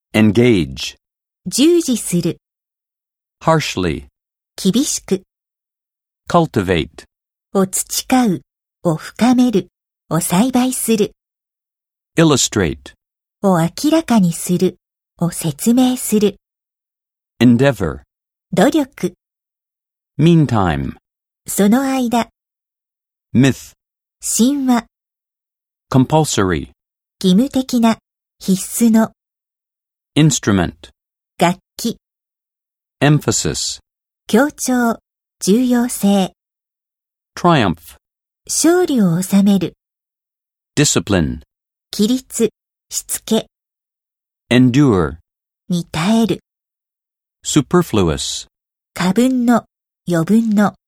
engage, 従事する、 harshly, 厳しく、 cultivate, を培う、を深める、を栽培する、 illustrate, を明らかにする、を説明する、 endeavor, 努力、 meantime, その間、 myth, 神話、 compulsory, 義務的な、必須の、 instrument, 楽器、 emphasis, 強調、重要性、 triumph, 勝利を収める、 discipline, 規律、しつけ、 endure, に耐える、 superfluous. 過分の、余分の、